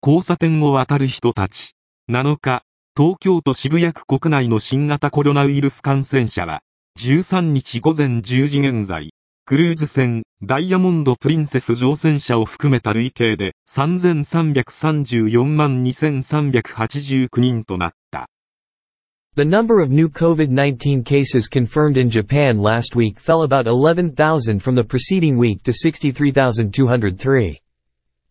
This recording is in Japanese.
交差点を渡る人たち。7日、東京都渋谷区国内の新型コロナウイルス感染者は、13日午前10時現在、クルーズ船、ダイヤモンド・プリンセス乗船者を含めた累計で3334万2389人となった。 The number of new COVID-19 cases confirmed in Japan last week fell about 11,000 from the preceding week to 63,203.